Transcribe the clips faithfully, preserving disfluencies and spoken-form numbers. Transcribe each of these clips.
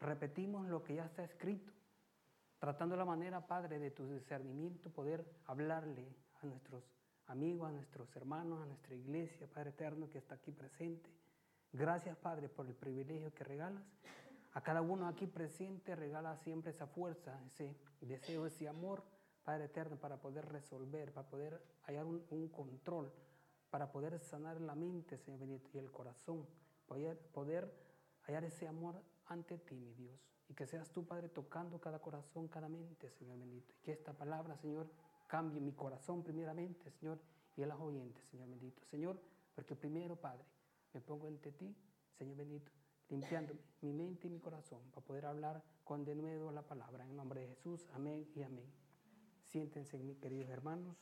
repetimos lo que ya está escrito, tratando la manera, Padre, de tu discernimiento, poder hablarle a nuestros amigos, a nuestros hermanos, a nuestra iglesia, Padre eterno, que está aquí presente. Gracias, Padre, por el privilegio que regalas. A cada uno aquí presente regala siempre esa fuerza, ese deseo, ese amor, Padre eterno, para poder resolver, para poder hallar un, un control, para poder sanar la mente, Señor bendito, y el corazón, poder, poder hallar ese amor ante ti, mi Dios. Y que seas tú, Padre, tocando cada corazón, cada mente, Señor bendito. Y que esta palabra, Señor, cambie mi corazón primeramente, Señor, y a las oyentes, Señor bendito. Señor, porque primero, Padre, me pongo ante ti, Señor bendito, limpiándome mi mente y mi corazón para poder hablar con denuedo la palabra. En nombre de Jesús, amén y amén. Siéntense, mis queridos hermanos.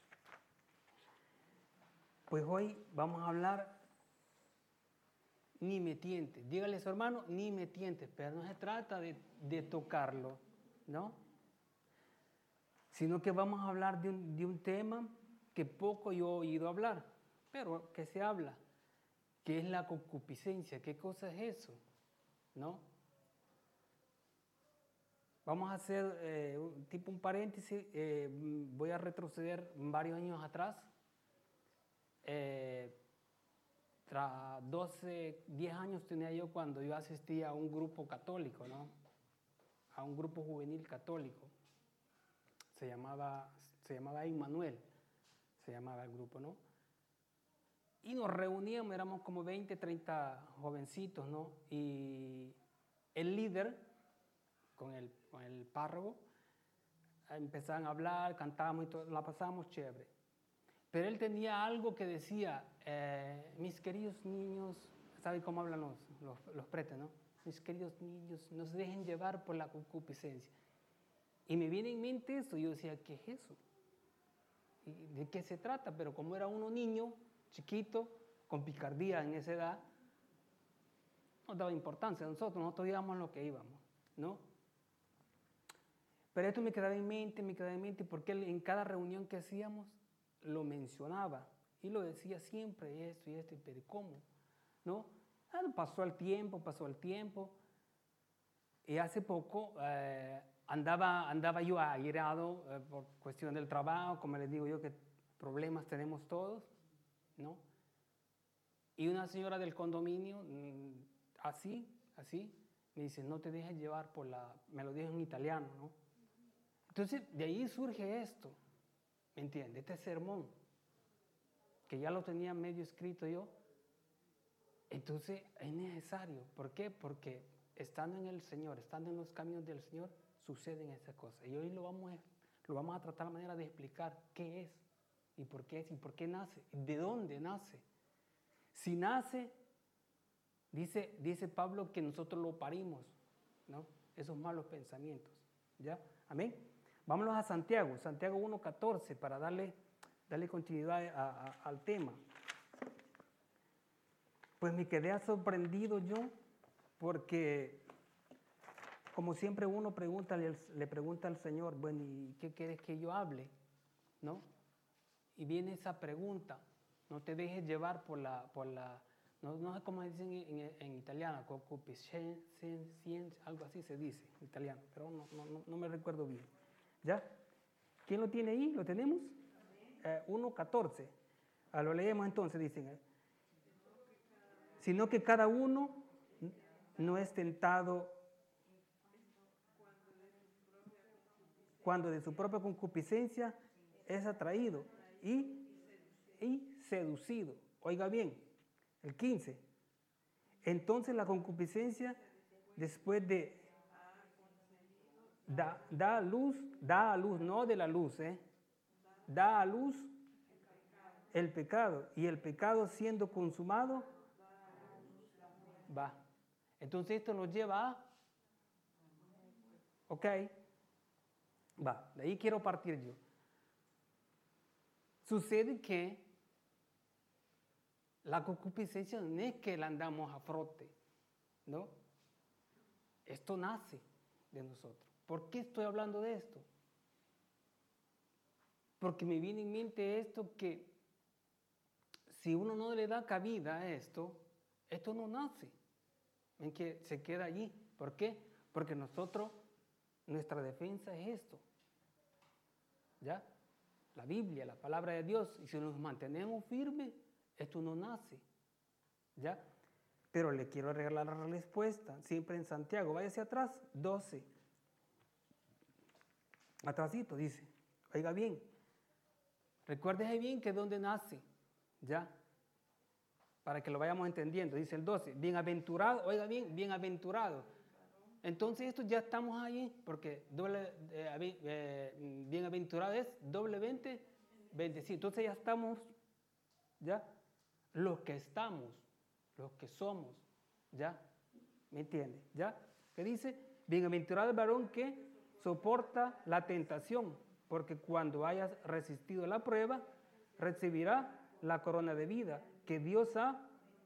Pues hoy vamos a hablar ni me tientes. Dígale a su hermano, ni me tientes, pero no se trata de, de tocarlo, ¿no? Sino que vamos a hablar de un, de un tema que poco yo he oído hablar, pero que se habla, que es la concupiscencia. ¿Qué cosa es eso? ¿No? Vamos a hacer eh, un, tipo un paréntesis, eh, voy a retroceder varios años atrás. Eh, tras doce, diez años tenía yo cuando yo asistía a un grupo católico, ¿no? A un grupo juvenil católico. Se llamaba, se llamaba Immanuel, se llamaba el grupo, ¿no? Y nos reuníamos, éramos como veinte, treinta jovencitos, ¿no? Y el líder, con el, con el párroco, empezaban a hablar, cantábamos y todo, la pasábamos chévere. Pero él tenía algo que decía, eh, mis queridos niños, ¿saben cómo hablan los, los, los pretes, no? Mis queridos niños, no se dejen llevar por la concupiscencia. Y me viene en mente eso, y yo decía, ¿qué es eso? ¿Y de qué se trata? Pero como era uno niño, chiquito, con picardía en esa edad, no daba importancia a nosotros, nosotros íbamos lo que íbamos, ¿no? Pero esto me quedaba en mente, me quedaba en mente, porque él, en cada reunión que hacíamos, lo mencionaba, y lo decía siempre, esto y esto, pero ¿cómo? ¿No? Ah, pasó el tiempo, pasó el tiempo, y hace poco eh, andaba, andaba yo airado eh, por cuestión del trabajo, como les digo yo, que problemas tenemos todos, ¿no? Y una señora del condominio, así, así, me dice, no te dejes llevar por la... Me lo dijo en italiano, ¿no? Entonces, de ahí surge esto, ¿me entiendes? Este sermón, que ya lo tenía medio escrito yo. Entonces, es necesario. ¿Por qué? Porque estando en el Señor, estando en los caminos del Señor, suceden esas cosas. Y hoy lo vamos a, lo vamos a tratar la manera de explicar qué es, y por qué es, y por qué nace, y de dónde nace. Si nace, dice, dice Pablo que nosotros lo parimos, ¿no? Esos malos pensamientos, ¿ya? Amén. Vámonos a Santiago, Santiago uno catorce, para darle, darle continuidad a, a, al tema. Pues me quedé sorprendido yo, porque como siempre uno pregunta, le, le pregunta al Señor, bueno, ¿y qué quieres que yo hable? ¿No? Y viene esa pregunta, no te dejes llevar por la, por la no, no sé cómo dicen en, en, en italiano, concupiscencia, algo así se dice en italiano, pero no, no, no me recuerdo bien. ¿Ya? ¿Quién lo tiene ahí? ¿Lo tenemos? Eh, uno catorce. Ah, lo leemos entonces, dicen. Eh. Sino que cada uno no es tentado cuando de su propia concupiscencia es atraído y, y seducido. Oiga bien, el quince. Entonces la concupiscencia, después de da, da a luz, da a luz, no de la luz, ¿eh? Da a luz el pecado, y el pecado siendo consumado, va. Entonces esto nos lleva a, ok, va, de ahí quiero partir yo. Sucede que la concupiscencia no es que la andamos a frote, ¿no? Esto nace de nosotros. ¿Por qué estoy hablando de esto? Porque me viene en mente esto, que si uno no le da cabida a esto, esto no nace, en que se queda allí, ¿Por qué? Porque nosotros, nuestra defensa es esto. ¿Ya? La Biblia, la palabra de Dios. Y si nos mantenemos firmes, esto no nace. ¿Ya? Pero le quiero regalar la respuesta. Siempre en Santiago. Váyase atrás. doce. Atrásito dice. Oiga bien. Recuérdese bien que es donde nace. ¿Ya? Para que lo vayamos entendiendo. Dice el doce. Bienaventurado. Oiga bien. Bienaventurado. Entonces esto ya estamos ahí. Porque doble, eh, eh, bienaventurado es doblemente bendecido. Entonces ya estamos. ¿Ya? Los que estamos. Los que somos. ¿Ya? ¿Me entiende? ¿Ya? ¿Qué dice? Bienaventurado el varón que soporta la tentación, porque cuando hayas resistido la prueba, recibirá la corona de vida que Dios ha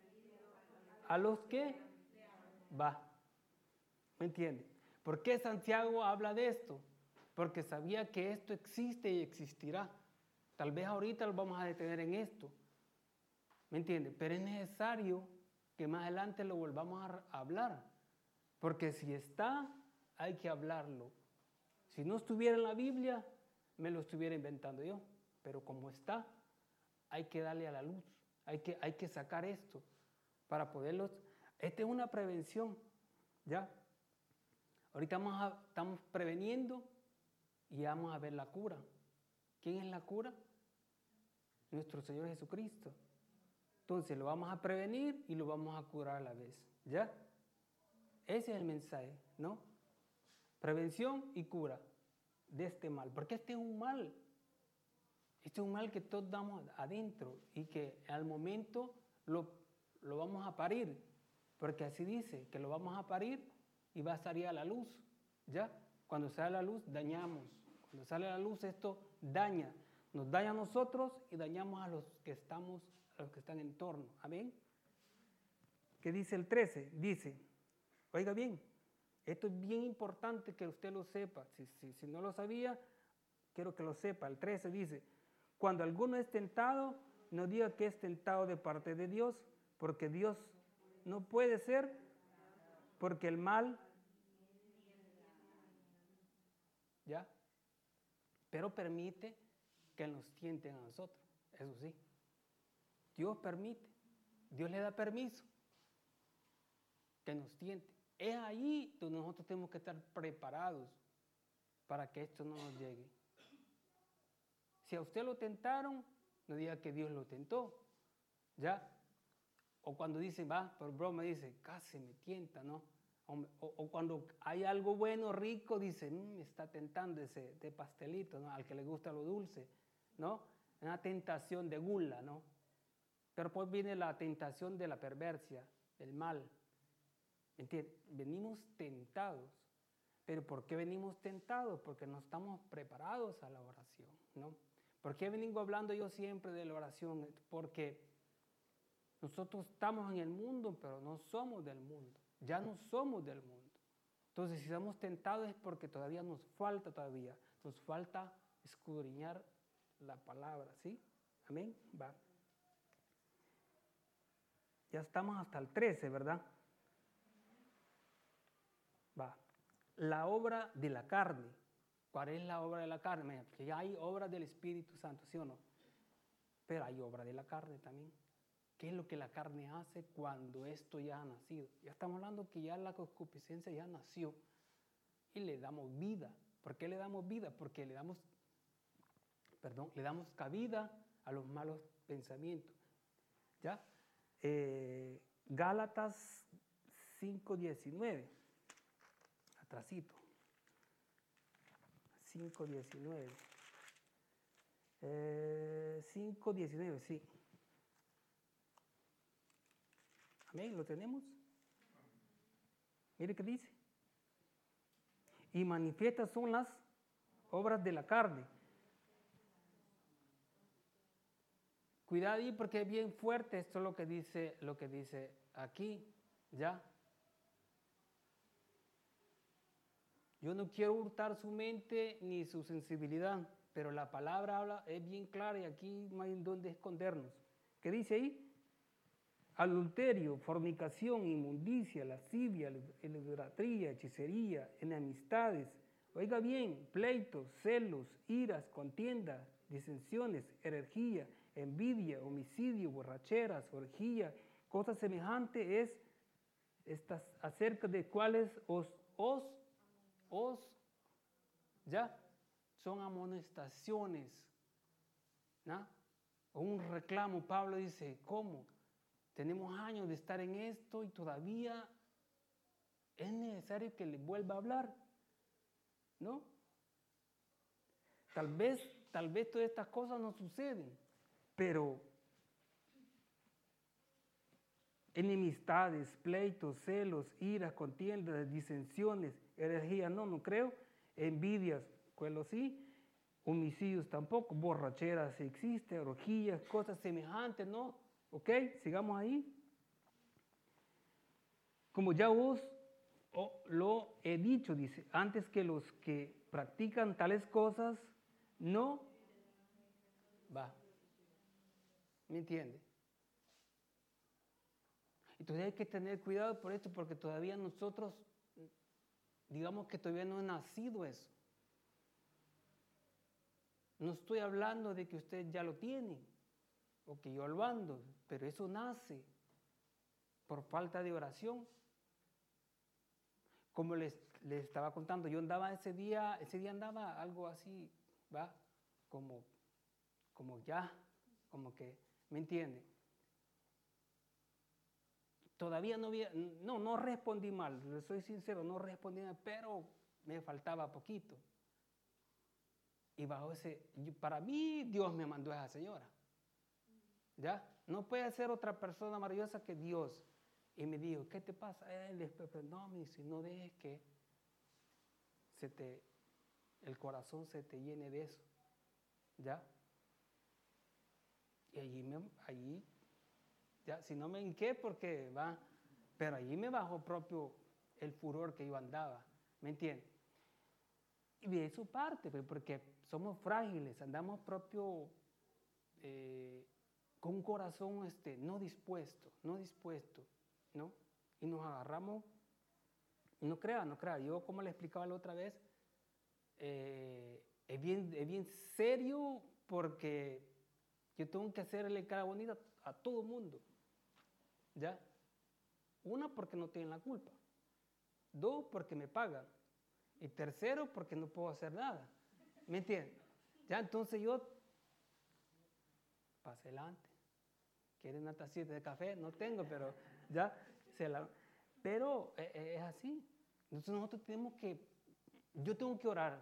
a los que va. ¿Me entiende? ¿Por qué Santiago habla de esto? Porque sabía que esto existe y existirá. Tal vez ahorita lo vamos a detener en esto. ¿Me entiende? Pero es necesario que más adelante lo volvamos a hablar. Porque si está, hay que hablarlo. Si no estuviera en la Biblia, me lo estuviera inventando yo. Pero como está, hay que darle a la luz. Hay que, hay que sacar esto para poderlos... Esta es una prevención, ¿ya? Ahorita vamos a, estamos preveniendo y vamos a ver la cura. ¿Quién es la cura? Nuestro Señor Jesucristo. Entonces lo vamos a prevenir y lo vamos a curar a la vez, ¿ya? Ese es el mensaje, ¿no? Prevención y cura de este mal. Porque este es un mal. Este es un mal que todos damos adentro y que al momento lo, lo vamos a parir. Porque así dice, que lo vamos a parir y va a salir a la luz, ¿ya? Cuando sale a la luz, dañamos. Cuando sale a la luz, esto daña. Nos daña a nosotros y dañamos a los que estamos, a los que están en torno. ¿Amén? ¿Qué dice el trece? Dice, oiga bien, esto es bien importante que usted lo sepa. Si, si, si no lo sabía, quiero que lo sepa. El trece dice, cuando alguno es tentado, no diga que es tentado de parte de Dios, porque Dios no puede ser, porque el mal, ¿ya? Pero permite que nos tienten a nosotros, eso sí. Dios permite, Dios le da permiso que nos tiente. Es ahí donde nosotros tenemos que estar preparados para que esto no nos llegue. Si a usted lo tentaron, no diga que Dios lo tentó, ¿ya? O cuando dicen, va, por broma dice, casi me tienta, ¿no? O, o, o cuando hay algo bueno, rico, dice, mmm, me está tentando ese de pastelito, ¿no? Al que le gusta lo dulce, ¿no? Una tentación de gula, ¿no? Pero pues viene la tentación de la perversia, del mal. ¿Entiendes? Venimos tentados. ¿Pero por qué venimos tentados? Porque no estamos preparados a la oración, ¿no? ¿Por qué vengo hablando yo siempre de la oración? Porque nosotros estamos en el mundo, pero no somos del mundo. Ya no somos del mundo. Entonces, si estamos tentados es porque todavía nos falta todavía. Nos falta escudriñar la palabra, ¿sí? Amén. Va. Ya estamos hasta el trece, ¿verdad? Va. La obra de la carne. ¿Cuál es la obra de la carne? Porque ya hay obra del Espíritu Santo, ¿sí o no? Pero hay obra de la carne también. ¿Qué es lo que la carne hace cuando esto ya ha nacido? Ya estamos hablando que ya la concupiscencia ya nació y le damos vida. ¿Por qué le damos vida? Porque le damos, perdón, le damos cabida a los malos pensamientos. ¿Ya? Eh, Gálatas cinco diecinueve. Atrasito. cinco diecinueve. Eh, cinco diecinueve, sí. Amén, ¿lo tenemos? Mire qué dice. Y manifiestas son las obras de la carne. Cuidado ahí porque es bien fuerte esto es lo que dice, lo que dice aquí, ¿ya? Yo no quiero hurtar su mente ni su sensibilidad, pero la palabra habla, es bien clara y aquí no hay donde escondernos. ¿Qué dice ahí? adulterio, fornicación, inmundicia, lascivia, idolatría, hechicería, enemistades. Oiga bien, pleitos, celos, iras, contiendas, disensiones, herejía, envidia, homicidio, borracheras, orgía, cosas semejantes es estas, acerca de cuáles os, os, os, ya, son amonestaciones, ¿no? O un reclamo. Pablo dice, ¿cómo? Tenemos años de estar en esto y todavía es necesario que le vuelva a hablar, ¿no? Tal vez, tal vez todas estas cosas no suceden, pero enemistades, pleitos, celos, iras, contiendas, disensiones, herejía, no, no creo, envidias, cuelo sí, homicidios tampoco, borracheras si existe, orgías, cosas semejantes, ¿no? ¿Ok? Sigamos ahí. Como ya os oh, lo he dicho, dice, antes que los que practican tales cosas, no, va, ¿me entiende? Entonces hay que tener cuidado por esto, porque todavía nosotros, digamos que todavía no ha nacido eso. No estoy hablando de que usted ya lo tiene, o que yo lo ando, pero eso nace por falta de oración. Como les, les estaba contando, yo andaba ese día, ese día andaba algo así, ¿va? Como, como ya, como que, ¿me entiende? Todavía no había, no, no respondí mal, soy sincero, no respondí mal, pero me faltaba poquito. Y bajo ese, para mí Dios me mandó a esa señora. ¿Ya? No puede ser otra persona maravillosa que Dios. Y me dijo, ¿qué te pasa? Él después, no, me dice, no dejes que se te, el corazón se te llene de eso. ¿Ya? Y allí, me, allí ya, si no me hinqué porque va, pero allí me bajó propio el furor que yo andaba, ¿me entiendes? Y de eso parte, porque somos frágiles, andamos propio eh, con un corazón este, no dispuesto, no dispuesto, ¿no? Y nos agarramos, no crea, no crea, yo como le explicaba la otra vez, eh, es, bien, es bien serio porque yo tengo que hacerle cara bonita a todo el mundo, ¿ya? Una, porque no tienen la culpa. Dos, porque me pagan. Y tercero, porque no puedo hacer nada. ¿Me entiendes? Ya, entonces yo, pase adelante. ¿Quieren una tacita de café? No tengo, pero ya, se la... Pero eh, eh, es así. Entonces nosotros tenemos que, yo tengo que orar.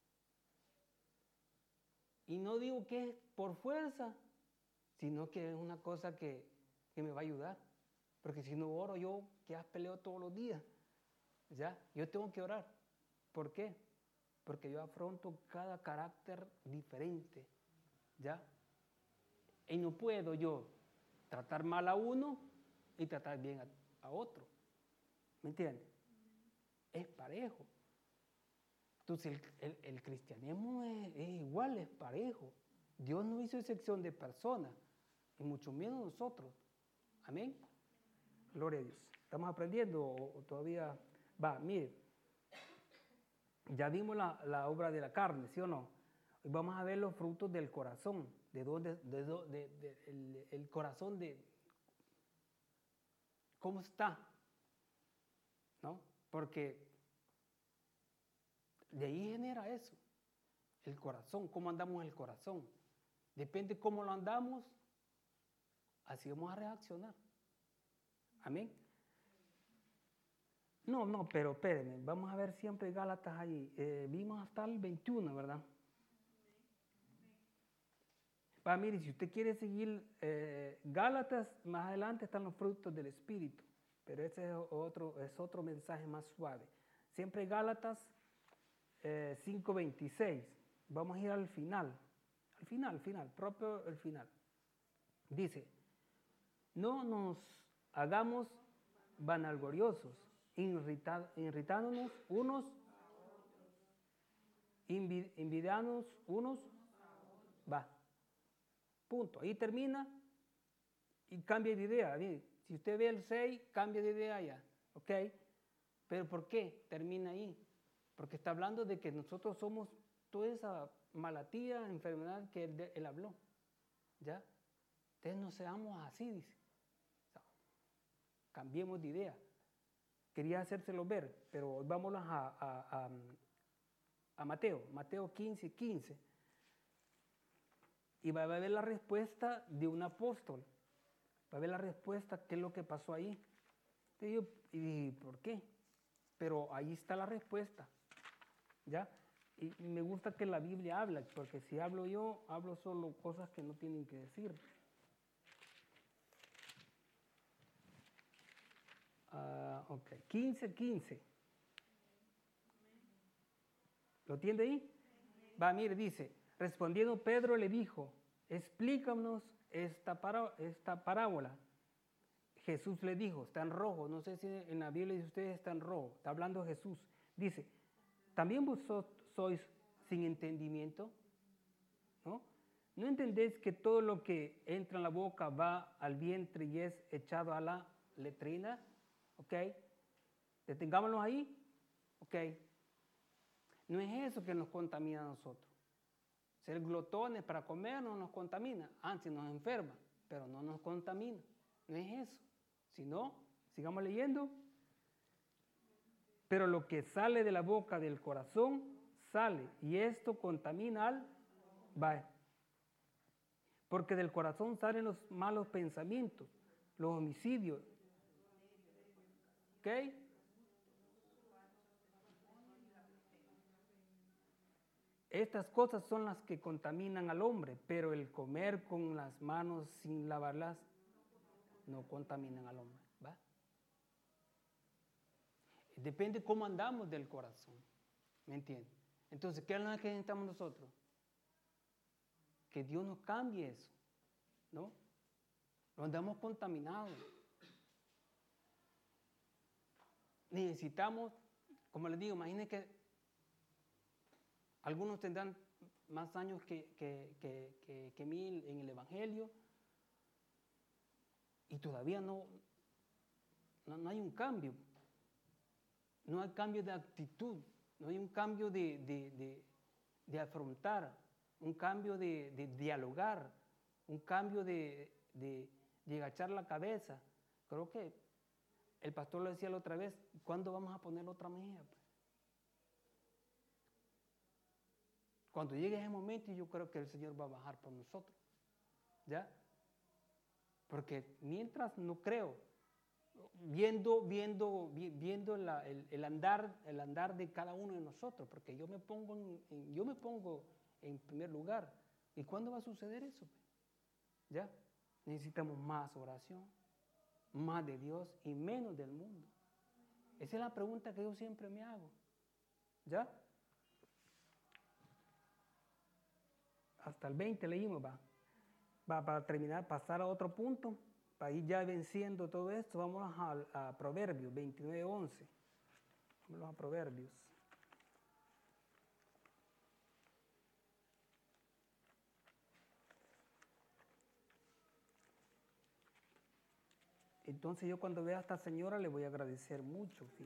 Y no digo que es por fuerza, sino que es una cosa que, que me va a ayudar. Porque si no oro yo, que has peleo todos los días. ¿Ya? Yo tengo que orar. ¿Por qué? Porque yo afronto cada carácter diferente. ¿Ya? Y no puedo yo tratar mal a uno y tratar bien a, a otro. ¿Me entiendes? Es parejo. Entonces el, el, el cristianismo es, es igual, es parejo. Dios no hizo excepción de personas, y mucho menos nosotros. Amén. Gloria a Dios. ¿Estamos aprendiendo o, o todavía? Va, mire. Ya vimos la, la obra de la carne, ¿sí o no? Hoy vamos a ver los frutos del corazón. De dónde, de, de, de, de el, el corazón de cómo está, ¿no? Porque de ahí genera eso, el corazón, cómo andamos el corazón. Depende cómo lo andamos, así vamos a reaccionar. Amén. No, no, pero espérenme, vamos a ver siempre Gálatas ahí. Eh, vimos hasta el veintiuno, ¿verdad? Va, mire, si usted quiere seguir eh, Gálatas, más adelante están los frutos del Espíritu, pero ese es otro, es otro mensaje más suave. Siempre Gálatas eh, cinco veintiséis. Vamos a ir al final, al final, al final, propio el final. Dice, no nos hagamos vanagloriosos, irrita, irritándonos unos, envidiándonos unos, va. Punto. Ahí termina y cambia de idea. Si Si usted ve el seis, cambia de idea ya, ¿ok? ¿Pero por qué termina ahí? Porque está hablando de que nosotros somos toda esa malatía, enfermedad que él, él habló, ¿ya? Entonces no seamos así, dice. O sea, cambiemos de idea. Quería hacérselo ver, pero vámonos a, a, a, a Mateo, Mateo quince, quince. Y va a ver la respuesta de un apóstol. Va a ver la respuesta, qué es lo que pasó ahí. Y yo, ¿y por qué? Pero ahí está la respuesta, ¿ya? Y me gusta que la Biblia habla, porque si hablo yo, hablo solo cosas que no tienen que decir. Uh, ok, quince, quince. ¿Lo tiene ahí? Va, mire, dice, respondiendo Pedro le dijo, explícanos esta, para, esta parábola. Jesús le dijo, está en rojo, no sé si en la Biblia dice ustedes está en rojo, está hablando Jesús. Dice, ¿también vosotros sois sin entendimiento? ¿No? ¿No entendéis que todo lo que entra en la boca va al vientre y es echado a la letrina? ¿Ok? Detengámonos ahí. ¿Ok? No es eso que nos contamina a nosotros. Ser glotones para comer no nos contamina. Antes nos enferma, pero no nos contamina. No es eso. Si no, sigamos leyendo. Pero lo que sale de la boca del corazón sale, y esto contamina al va. Porque del corazón salen los malos pensamientos, los homicidios. ¿Ok? Estas cosas son las que contaminan al hombre, pero el comer con las manos sin lavarlas no contaminan al hombre. ¿Va? Depende cómo andamos del corazón. ¿Me entiende? Entonces, ¿qué es lo que necesitamos nosotros? Que Dios nos cambie eso, ¿no? No andamos contaminados. Necesitamos, como les digo, imagínense que algunos tendrán más años que, que, que, que, que mí en el Evangelio y todavía no, no, no hay un cambio. No hay cambio de actitud, no hay un cambio de, de, de, de afrontar, un cambio de, de dialogar, un cambio de, de, de agachar la cabeza. Creo que el pastor lo decía la otra vez, ¿cuándo vamos a poner otra mejilla? Cuando llegue ese momento, yo creo que el Señor va a bajar por nosotros, ¿ya? Porque mientras no creo, viendo, viendo, viendo la, el, el, andar, el andar de cada uno de nosotros, porque yo me pongo en, en, yo me pongo en primer lugar. ¿Y cuándo va a suceder eso? ¿Ya? Necesitamos más oración, más de Dios y menos del mundo. Esa es la pregunta que yo siempre me hago. ¿Ya? Hasta el veinte leímos, va. Va para terminar, pasar a otro punto, para ir ya venciendo todo esto, vamos a, a Proverbios veintinueve, once. Vamos a Proverbios. Entonces yo cuando vea a esta señora le voy a agradecer mucho. ¿Sí?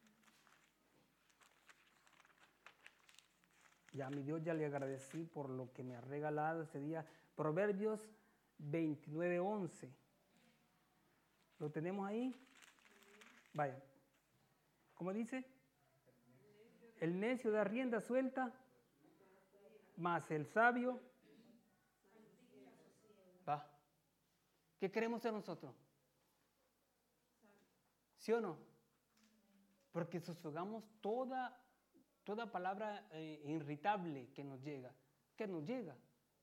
Ya a mi Dios ya le agradecí por lo que me ha regalado ese día. Proverbios veintinueve, once. ¿Lo tenemos ahí? Vaya. ¿Cómo dice? El necio da rienda suelta, mas el sabio va. ¿Qué queremos ser nosotros? ¿Sí o no? Porque sofocamos toda, toda palabra eh, irritable que nos llega. Que nos llega.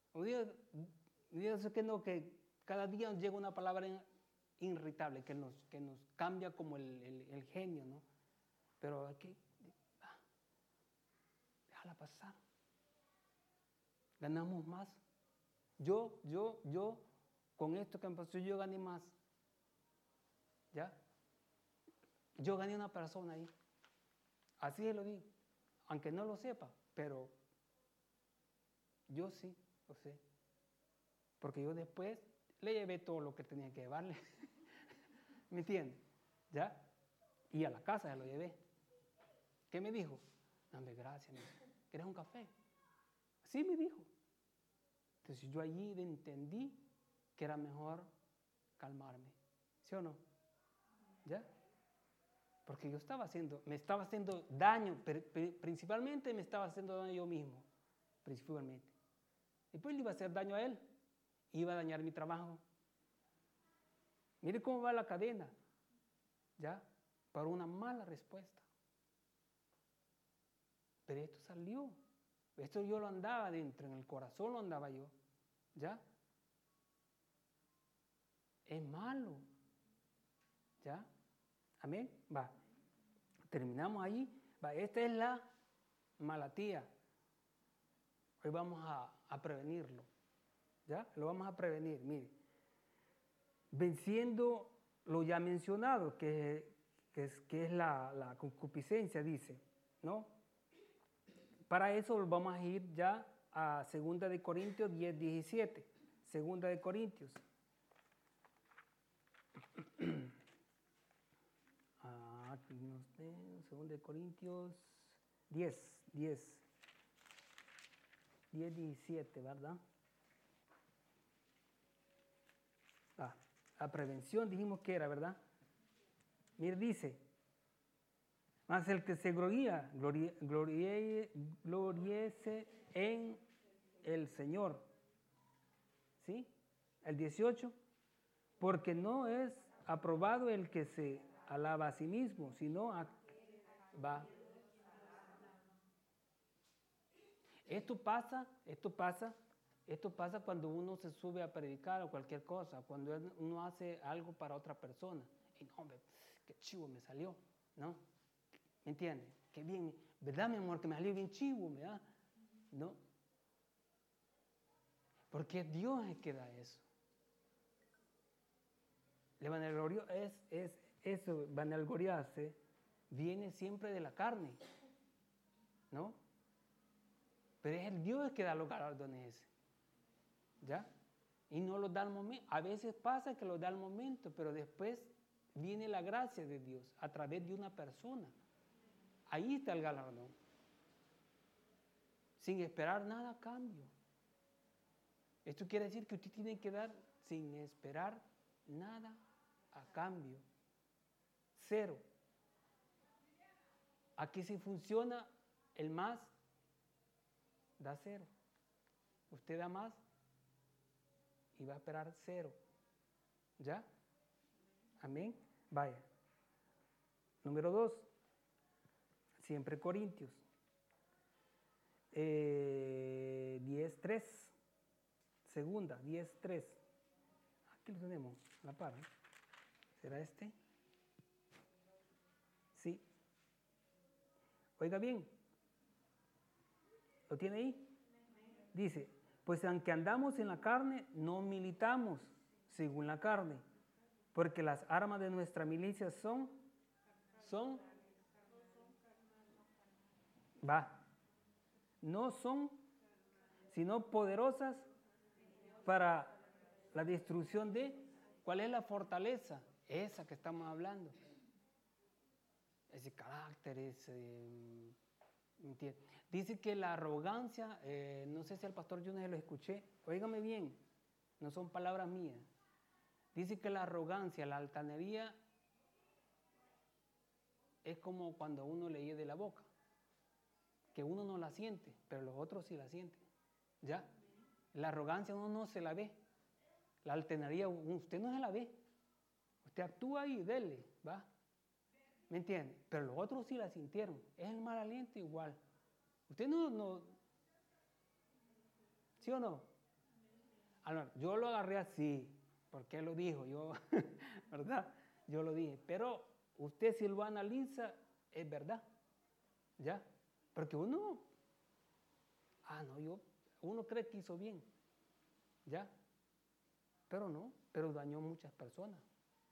Dios que no, que cada día nos llega una palabra irritable que nos, que nos cambia como el, el, el genio, ¿no? Pero aquí, ah, déjala pasar. Ganamos más. Yo, yo, yo, con esto que me pasó, yo gané más. ¿Ya? Yo gané una persona ahí. Así se lo digo. Aunque no lo sepa, pero yo sí lo sé. Porque yo después le llevé todo lo que tenía que llevarle. ¿Me entiende? ¿Ya? Y a la casa se lo llevé. ¿Qué me dijo? Dame gracias, me dijo. ¿Quieres un café? Sí, me dijo. Entonces yo allí entendí que era mejor calmarme. ¿Sí o no? ¿Ya? Porque yo estaba haciendo, me estaba haciendo daño, principalmente me estaba haciendo daño yo mismo, principalmente. Después le iba a hacer daño a él, iba a dañar mi trabajo. Mire cómo va la cadena, ¿ya? Para una mala respuesta. Pero esto salió, esto yo lo andaba dentro, en el corazón lo andaba yo, ¿ya? Es malo, ¿ya? Amén, va. Terminamos ahí. Va, esta es la malatía. Hoy vamos a, a prevenirlo. ¿Ya? Lo vamos a prevenir. Mire. Venciendo lo ya mencionado, que, que es, que es la, la concupiscencia, dice. ¿No? Para eso vamos a ir ya a segunda de Corintios diez, diecisiete. segunda de Corintios. segunda de Corintios diez, diez, diez, diecisiete, ¿verdad? Ah, la prevención dijimos que era, ¿verdad? Mire, dice, más el que se gloría, glorie, glorie, gloriese en el Señor. ¿Sí? El dieciocho, porque no es aprobado el que se alaba a sí mismo, sino a, va. Esto pasa, esto pasa, esto pasa cuando uno se sube a predicar o cualquier cosa, cuando uno hace algo para otra persona. Y no, hombre, qué chivo me salió, ¿no? ¿Me entiende? Qué bien, ¿verdad, mi amor? Que me salió bien chivo, ¿verdad? ¿No? Porque Dios es que da eso. El vanaglorio es, es eso, vanagloriarse viene siempre de la carne, ¿no? Pero es el Dios el que da los galardones, ¿ya? Y no los da al momento. A veces pasa que los da al momento, pero después viene la gracia de Dios a través de una persona. Ahí está el galardón. Sin esperar nada a cambio. Esto quiere decir que usted tiene que dar sin esperar nada a cambio. Cero. Aquí si funciona el más, da cero. Usted da más y va a esperar cero. ¿Ya? Amén. Vaya. Número dos. Siempre Corintios. Eh, diez tres. Segunda, diez tres. Aquí lo tenemos, la par. ¿eh? ¿Será este? Sí. Oiga bien. ¿Lo tiene ahí? Dice, pues aunque andamos en la carne, no militamos según la carne, porque las armas de nuestra milicia son, son, va, no son, sino poderosas para la destrucción de, ¿cuál es la fortaleza? Esa que estamos hablando. Ese carácter, ese... ¿entiendes? Dice que la arrogancia, eh, no sé si al pastor yo no lo escuché, óigame bien, no son palabras mías. Dice que la arrogancia, la altanería, es como cuando uno le hiede la boca, que uno no la siente, pero los otros sí la sienten. ¿Ya? La arrogancia uno no se la ve, la altanería usted no se la ve, usted actúa y dele, ¿va? ¿Me entiende? Pero los otros sí la sintieron, es el mal aliento igual. Usted no, no, ¿sí o no? Ahora, yo lo agarré así, porque él lo dijo, yo, ¿verdad? Yo lo dije, pero usted si lo analiza, es verdad, ¿ya? Porque uno, ah, no, yo, uno cree que hizo bien, ¿ya? Pero no, pero dañó muchas personas.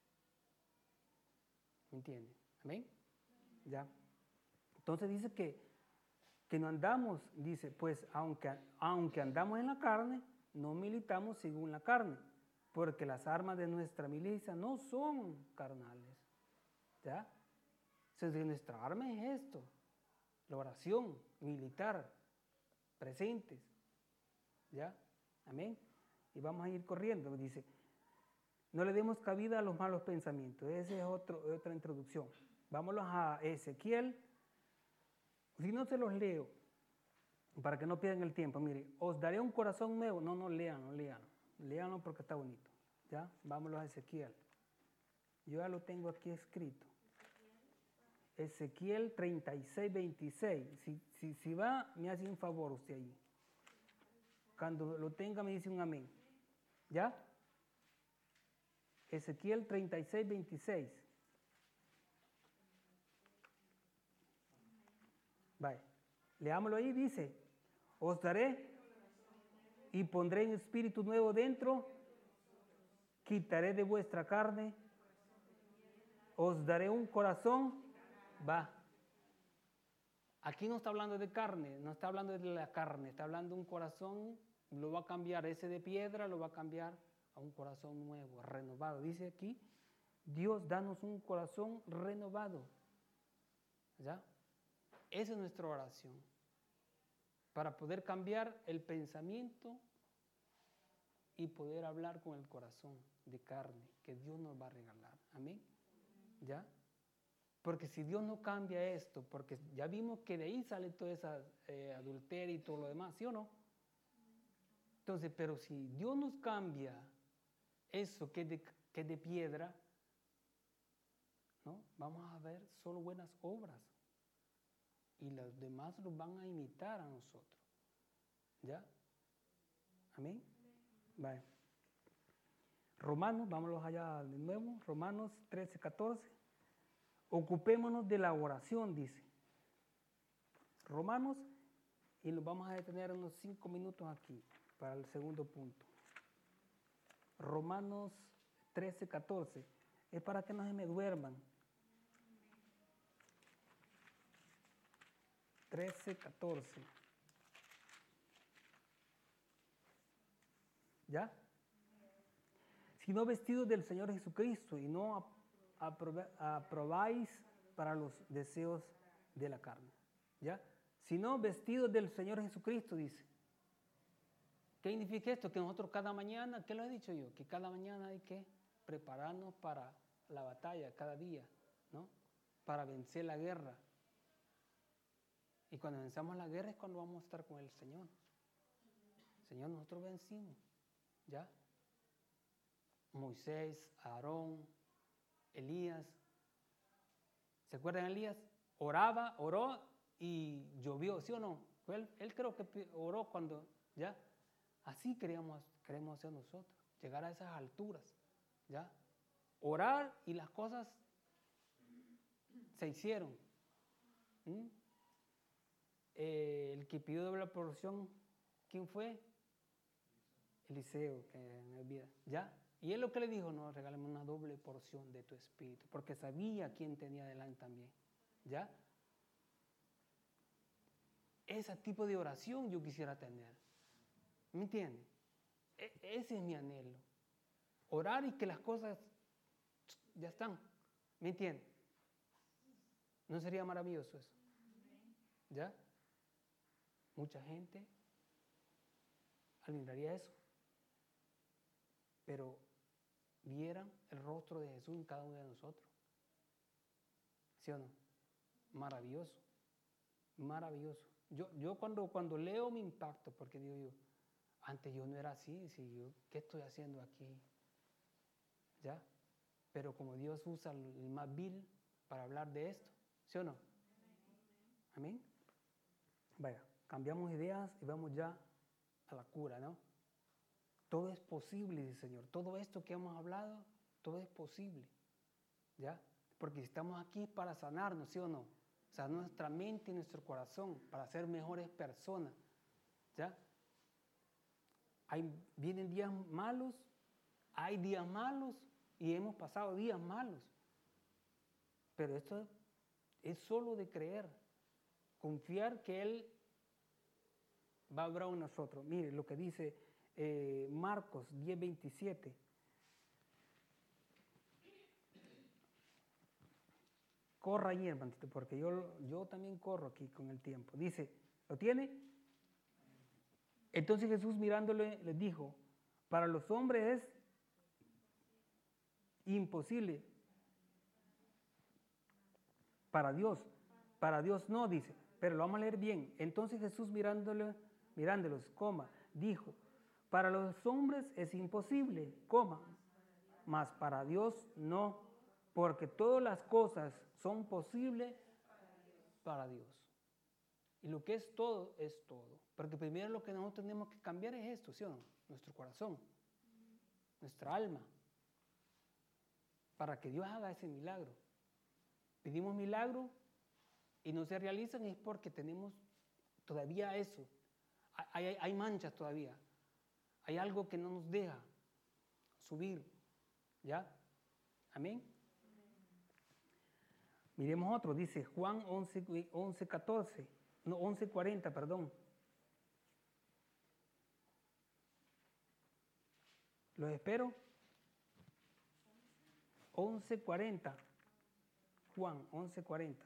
¿Me entiende? ¿Amén? ¿Ya? Entonces dice que que no andamos, dice, pues aunque, aunque andamos en la carne, no militamos según la carne, porque las armas de nuestra milicia no son carnales. ¿Ya? Entonces, nuestra arma es esto, la oración militar, presentes. ¿Ya? Amén. Y vamos a ir corriendo, dice, no le demos cabida a los malos pensamientos. Esa es otro, otra introducción. Vámonos a Ezequiel. Si no se los leo, para que no pierdan el tiempo, mire, os daré un corazón nuevo. No, no, léanlo, léanlo. Léanlo porque está bonito. ¿Ya? Vámonos a Ezequiel. Yo ya lo tengo aquí escrito. Ezequiel treinta y seis, veintiséis. Si, si, si va, me hace un favor usted allí. Cuando lo tenga, me dice un amén. ¿Ya? Ezequiel treinta y seis, veintiséis. Vaya, leámoslo ahí, dice, os daré y pondré un espíritu nuevo dentro, quitaré de vuestra carne, os daré un corazón, va. Aquí no está hablando de carne, no está hablando de la carne, está hablando de un corazón, lo va a cambiar, ese de piedra lo va a cambiar a un corazón nuevo, renovado. Dice aquí, Dios, danos un corazón renovado. ¿Ya? Esa es nuestra oración. Para poder cambiar el pensamiento y poder hablar con el corazón de carne que Dios nos va a regalar. Amén. ¿Ya? Porque si Dios no cambia esto, porque ya vimos que de ahí sale todo ese eh, adulterio y todo lo demás, ¿sí o no? Entonces, pero si Dios nos cambia eso que es de, que es de piedra, ¿no? Vamos a ver solo buenas obras. Y los demás los van a imitar a nosotros. ¿Ya? Amén. Vale. Romanos, vámonos allá de nuevo. Romanos trece, catorce. Ocupémonos de la oración, dice. Romanos, y nos vamos a detener unos cinco minutos aquí para el segundo punto. Romanos trece, catorce. Es para que no se me duerman. trece, catorce. ¿Ya? Sino vestidos del Señor Jesucristo y no aprobáis para los deseos de la carne. ¿Ya? Sino vestidos del Señor Jesucristo, dice. ¿Qué significa esto? Que nosotros cada mañana, ¿qué lo he dicho yo? Que cada mañana hay que prepararnos para la batalla, cada día, ¿no? Para vencer la guerra. Y cuando venzamos la guerra es cuando vamos a estar con el Señor. Señor, nosotros vencimos. ¿Ya? Moisés, Aarón, Elías. ¿Se acuerdan de Elías? Oraba, oró y llovió, ¿sí o no? Él, él creo que oró cuando, ¿ya? Así queríamos, queremos hacer nosotros, llegar a esas alturas, ¿ya? Orar y las cosas se hicieron. ¿Mm? Eh, el que pidió doble porción, ¿quién fue? Eliseo, que me olvida, ¿ya? Y él lo que le dijo, no, regálame una doble porción de tu espíritu, porque sabía quién tenía delante también, ¿ya? Ese tipo de oración yo quisiera tener, ¿me entiende? E- ese es mi anhelo, orar y que las cosas ya están, ¿me entiende? ¿No sería maravilloso eso? ¿Ya? Mucha gente admiraría eso, pero vieran el rostro de Jesús en cada uno de nosotros. ¿Sí o no? Maravilloso, maravilloso. Yo, yo cuando, cuando leo me impacto, porque digo yo, antes yo no era así, si yo, ¿qué estoy haciendo aquí? ¿Ya? Pero como Dios usa el más vil para hablar de esto, ¿sí o no? Amén. Vaya, cambiamos ideas y vamos ya a la cura, ¿no? Todo es posible, dice el Señor. Todo esto que hemos hablado, todo es posible, ¿ya? Porque estamos aquí para sanarnos, ¿sí o no? Sanar nuestra mente y nuestro corazón para ser mejores personas, ¿ya? Hay, vienen días malos, hay días malos y hemos pasado días malos. Pero esto es solo de creer, confiar que Él va a obrar en nosotros. Mire lo que dice eh, Marcos diez, veintisiete. corra ahí, hermanito, porque yo, yo también corro aquí con el tiempo. Dice, ¿lo tiene? Entonces Jesús mirándole les dijo, para los hombres es imposible. Para Dios, para Dios no, dice, pero lo vamos a leer bien. Entonces Jesús mirándole, mirándolos, coma, dijo, para los hombres es imposible, coma, mas para Dios no, porque todas las cosas son posibles para Dios. Y lo que es todo, es todo. Porque primero lo que nosotros tenemos que cambiar es esto, ¿sí o no? Nuestro corazón, nuestra alma, para que Dios haga ese milagro. Pedimos milagro y no se realizan es porque tenemos todavía eso. Hay, hay, hay manchas todavía. Hay algo que no nos deja subir. ¿Ya? Amén. Miremos otro. Dice Juan once, catorce. No, once cuarenta, perdón. ¿Los espero? once cuarenta. Juan once cuarenta.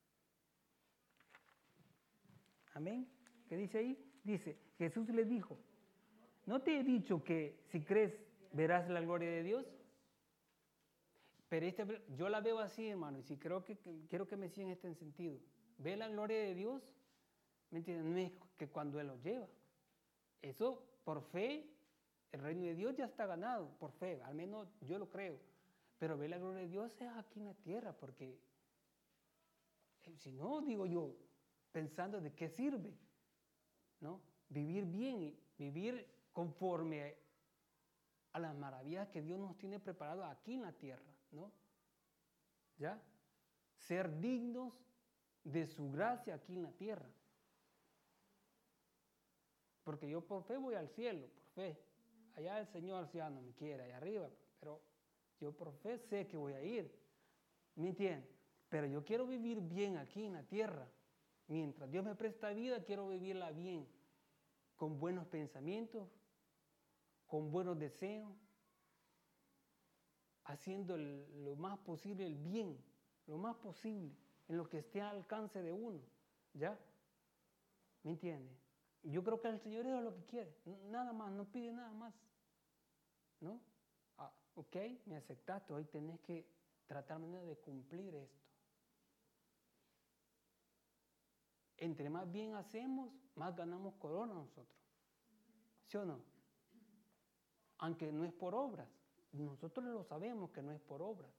Amén. ¿Qué dice ahí? Dice, Jesús le dijo, ¿no te he dicho que si crees verás la gloria de Dios? Pero este, yo la veo así, hermano, y si creo que, que quiero que me sigan en este sentido. Ve la gloria de Dios, ¿me entiendes? No es que cuando Él lo lleva. Eso, por fe, el reino de Dios ya está ganado, por fe, al menos yo lo creo. Pero ver la gloria de Dios es aquí en la tierra, porque si no, digo yo, pensando de qué sirve, ¿no? Vivir bien, vivir conforme a las maravillas que Dios nos tiene preparado aquí en la tierra, ¿no? ¿Ya? Ser dignos de su gracia aquí en la tierra. Porque yo por fe voy al cielo, por fe. Allá el Señor ya no me quiere, allá arriba, pero yo por fe sé que voy a ir. ¿Me entiendes? Pero yo quiero vivir bien aquí en la tierra. Mientras Dios me presta vida, quiero vivirla bien. Con buenos pensamientos, con buenos deseos, haciendo el, lo más posible el bien, lo más posible, en lo que esté al alcance de uno. ¿Ya? ¿Me entiendes? Yo creo que el Señor es lo que quiere. Nada más, no pide nada más. ¿No? Ah, ok, me aceptaste, hoy tenés que tratar de cumplir esto. Entre más bien hacemos, más ganamos corona nosotros. ¿Sí o no? Aunque no es por obras. Nosotros lo sabemos que no es por obras.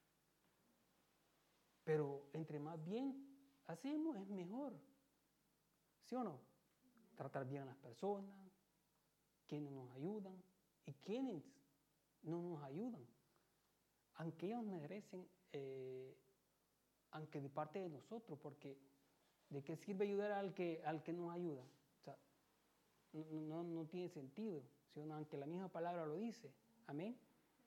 Pero entre más bien hacemos, es mejor. ¿Sí o no? Tratar bien a las personas, quienes nos ayudan y quienes no nos ayudan. Aunque ellos merecen, eh, aunque de parte de nosotros, porque ¿de qué sirve ayudar al que, al que nos ayuda? O sea, no, no, no tiene sentido, sino aunque la misma palabra lo dice. Amén.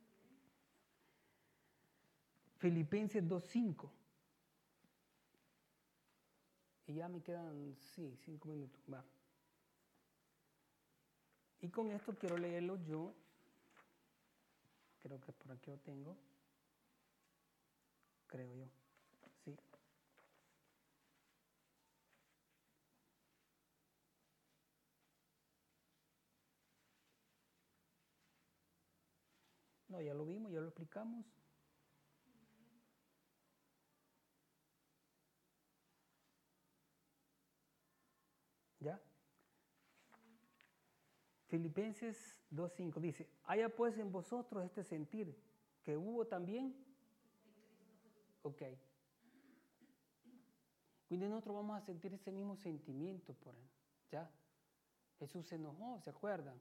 Filipenses dos cinco. Y ya me quedan, sí, cinco minutos. Va. Y con esto quiero leerlo yo. Creo que por aquí lo tengo. Creo yo. Sí. No, ya lo vimos, ya lo explicamos. ¿Ya? Filipenses dos cinco dice, haya pues en vosotros este sentir que hubo también. Ok. Cuando nosotros vamos a sentir ese mismo sentimiento por él, ¿ya? Jesús se enojó, ¿se acuerdan?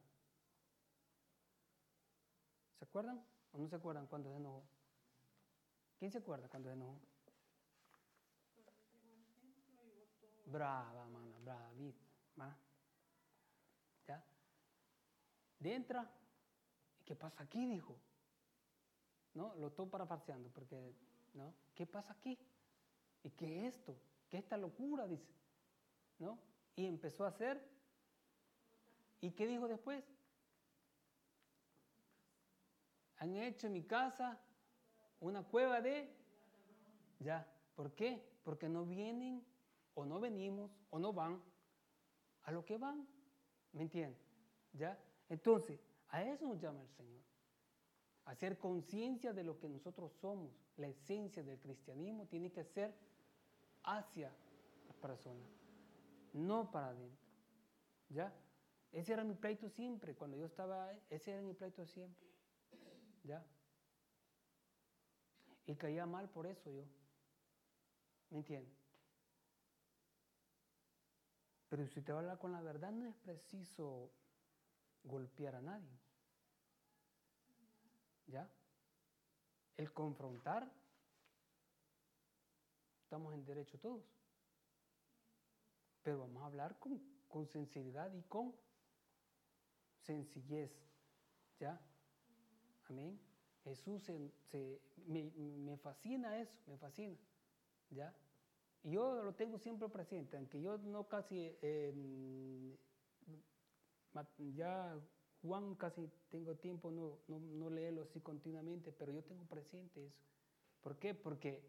¿Se acuerdan o no se acuerdan cuando se enojó? ¿Quién se acuerda cuando se enojó? Brava, mana, brava, ¿viste? ¿Va? ¿Ya? De entra, ¿qué pasa aquí? Dijo. ¿No? Lo estoy parafarseando porque, ¿no? ¿Qué pasa aquí? ¿Y qué es esto? ¿Qué es esta locura? Dice. ¿No? Y empezó a hacer. ¿Y qué dijo después? Han hecho en mi casa una cueva de... Ya. ¿Por qué? Porque no vienen o no venimos o no van a lo que van. ¿Me entienden? ¿Ya? Entonces, a eso nos llama el Señor. A hacer conciencia de lo que nosotros somos. La esencia del cristianismo tiene que ser hacia las personas, no para adentro. ¿Ya? Ese era mi pleito siempre. Cuando yo estaba, ese era mi pleito siempre. ¿Ya? Y caía mal por eso yo. ¿Me entiendes? Pero si te va a hablar con la verdad, no es preciso golpear a nadie. ¿Ya? El confrontar, estamos en derecho todos. Pero vamos a hablar con, con sinceridad y con sencillez. ¿Ya? Amén. Jesús se, se, me, me fascina eso, me fascina. ¿Ya? Y yo lo tengo siempre presente, aunque yo no casi, eh, ya Juan casi tengo tiempo, no, no, no leerlo así continuamente, pero yo tengo presente eso. ¿Por qué? Porque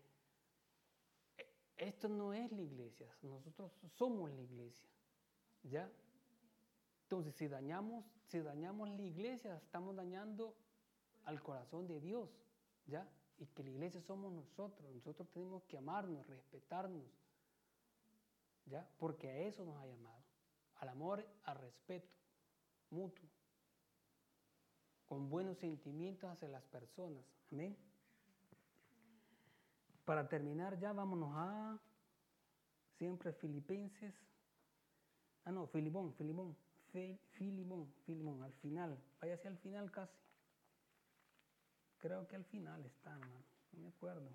esto no es la iglesia, nosotros somos la iglesia, ¿ya? Entonces, si dañamos, si dañamos la iglesia, estamos dañando al corazón de Dios, ¿ya? Y que la iglesia somos nosotros, nosotros tenemos que amarnos, respetarnos, ¿ya? Porque a eso nos ha llamado, al amor, al respeto mutuo, con buenos sentimientos hacia las personas, amén. Para terminar ya vámonos a siempre Filipenses, ah no, Filimón, Filimón, Filimón, Filimón, al final, váyase al final casi. Creo que al final está, hermano, no me acuerdo.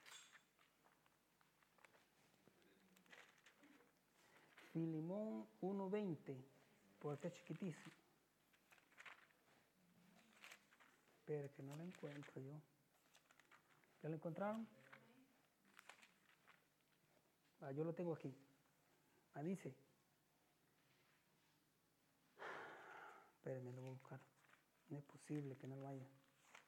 Filimón uno veinte, por acá chiquitísimo. Espera que no lo encuentro yo. ¿Ya lo encontraron? Ah, yo lo tengo aquí. Ah, dice. Espérenme, lo voy a buscar. No es posible que no lo haya.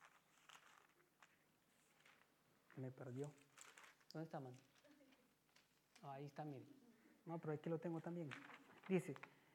Me perdió. ¿Dónde está, mano? Ah, ahí está, mire. No, pero aquí lo tengo también. Dice,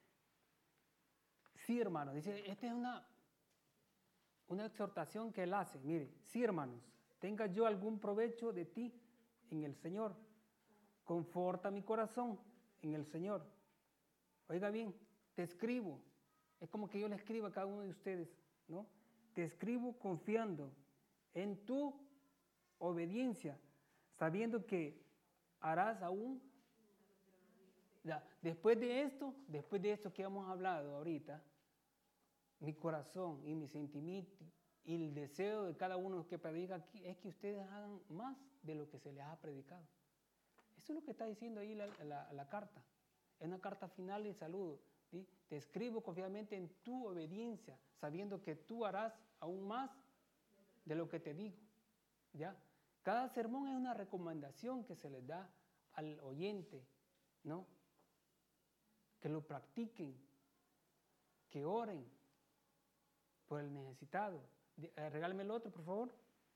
sí, hermanos, dice, esta es una, una exhortación que él hace. Mire, sí, hermanos, tenga yo algún provecho de ti en el Señor. Conforta mi corazón en el Señor. Oiga bien, te escribo. Es como que yo le escribo a cada uno de ustedes, ¿no? Te escribo confiando en tu obediencia, sabiendo que harás aún. Ya, después de esto, después de esto que hemos hablado ahorita, mi corazón y mi sentimiento y el deseo de cada uno que predica aquí es que ustedes hagan más de lo que se les ha predicado. Eso es lo que está diciendo ahí la, la, la carta. Es una carta final de saludo. ¿Sí? Te escribo confiadamente en tu obediencia, sabiendo que tú harás aún más de lo que te digo. ¿Ya? Cada sermón es una recomendación que se les da al oyente, ¿no? Que lo practiquen, que oren por el necesitado. Eh, regálame el otro, por favor.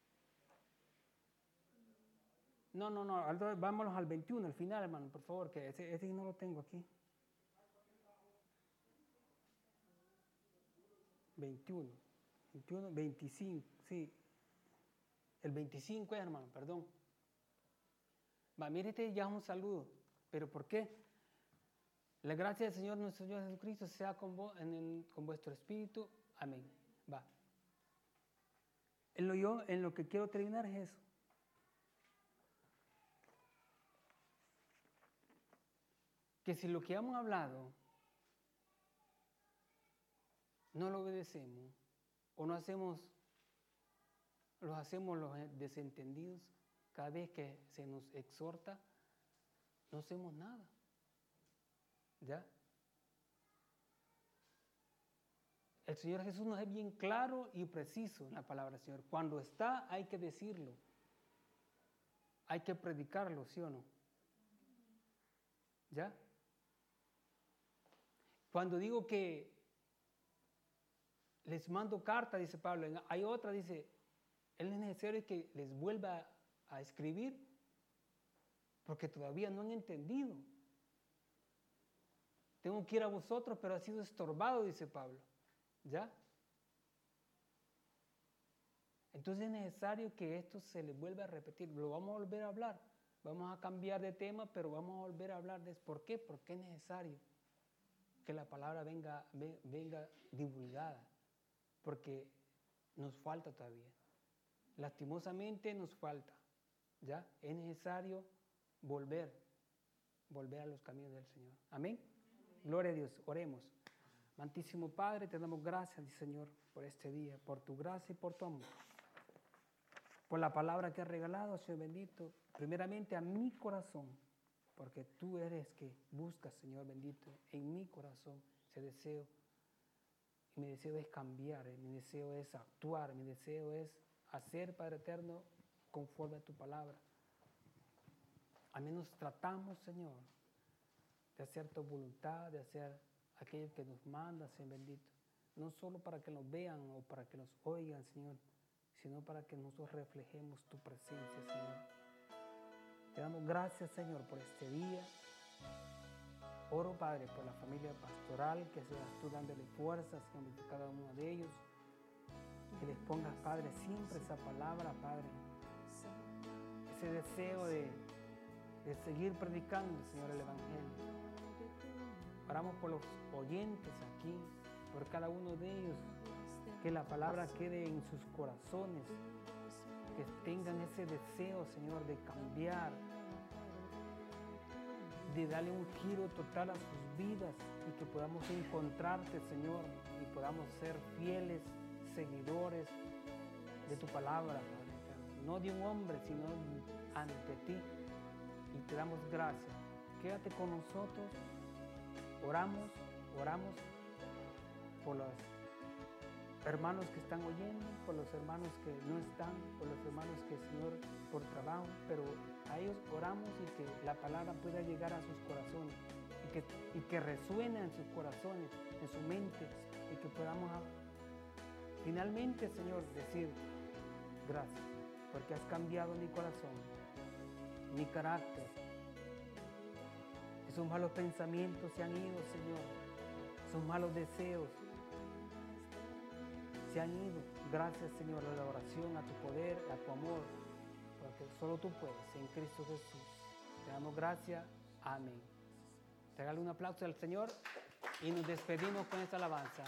No, no, no, vámonos al veintiuno, al final, hermano, por favor, que ese, ese no lo tengo aquí. veintiuno, veintiuno, veinticinco, sí. El veinticinco es, hermano, perdón. Va, mire, este ya es un saludo. ¿Pero por qué? La gracia del Señor nuestro Señor Jesucristo sea con, vos, en el, con vuestro espíritu. Amén. Va. En lo, yo, en lo que quiero terminar es eso. Que si lo que hemos hablado no lo obedecemos o no hacemos, los hacemos los desentendidos, cada vez que se nos exhorta, no hacemos nada. ¿Ya? El Señor Jesús nos es bien claro y preciso en la palabra del Señor. Cuando está, hay que decirlo. Hay que predicarlo, ¿sí o no? ¿Ya? Cuando digo que les mando carta, dice Pablo, hay otra, dice, es necesario que les vuelva a escribir. porque todavía no han entendido. Tengo que ir a vosotros, pero ha sido estorbado, dice Pablo. ¿Ya? Entonces es necesario que esto se les vuelva a repetir. Lo vamos a volver a hablar. Vamos a cambiar de tema, pero vamos a volver a hablar de eso. ¿Por qué? Porque es necesario que la palabra venga, venga divulgada. Porque nos falta todavía. Lastimosamente nos falta. ¿Ya? Es necesario volver, volver a los caminos del Señor. Amén. Gloria a Dios. Oremos. Amantísimo Padre, te damos gracias, Señor, por este día, por tu gracia y por tu amor. Por la palabra que has regalado, Señor bendito, primeramente a mi corazón, porque tú eres que buscas, Señor bendito, en mi corazón ese deseo. Y mi deseo es cambiar, mi deseo es actuar, mi deseo es hacer, Padre eterno, conforme a tu palabra. Al menos tratamos, Señor, de hacer tu voluntad, de hacer aquello que nos manda, Señor bendito. No solo para que nos vean o para que nos oigan, Señor, sino para que nosotros reflejemos tu presencia, Señor. Te damos gracias, Señor, por este día. Oro, Padre, por la familia pastoral, que seas tú dándole fuerza, Señor, a cada uno de ellos. Que les pongas, Padre, siempre esa palabra, Padre. Ese deseo de, de seguir predicando, Señor, el Evangelio. Oramos por los oyentes aquí, por cada uno de ellos. Que la palabra quede en sus corazones. Que tengan ese deseo, Señor, de cambiar. De darle un giro total a sus vidas. Y que podamos encontrarte, Señor. Y podamos ser fieles seguidores de tu palabra, Padre. No de un hombre, sino ante ti. Y te damos gracias. Quédate con nosotros. Oramos, oramos por los hermanos que están oyendo, por los hermanos que no están, por los hermanos que, Señor, por trabajo, pero a ellos oramos y que la palabra pueda llegar a sus corazones y que, y que resuene en sus corazones, en su mente, y que podamos finalmente, Señor, decir gracias, porque has cambiado mi corazón, mi carácter. Esos malos pensamientos se han ido, Señor. Esos malos deseos se han ido. Gracias, Señor, a la oración, a tu poder, a tu amor, porque solo tú puedes, en Cristo Jesús. Te damos gracias. Amén. Regale un aplauso al Señor y nos despedimos con esta alabanza.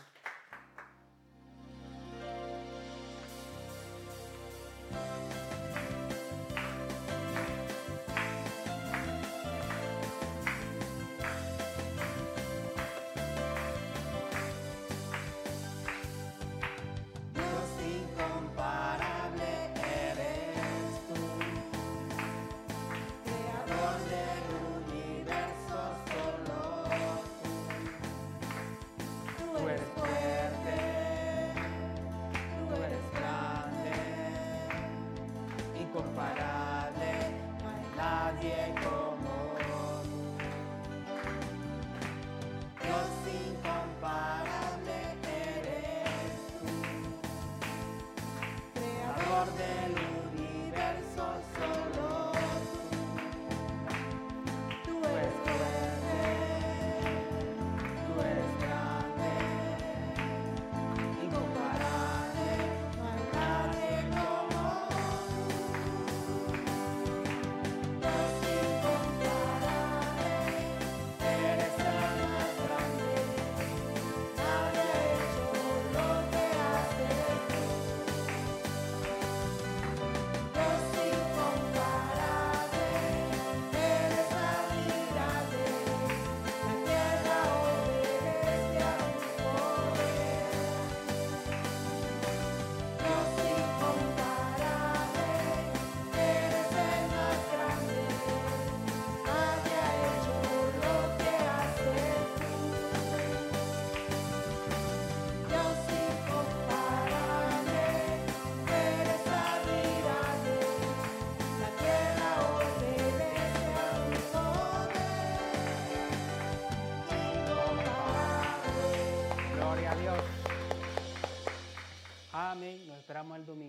Amén. Nos esperamos el domingo.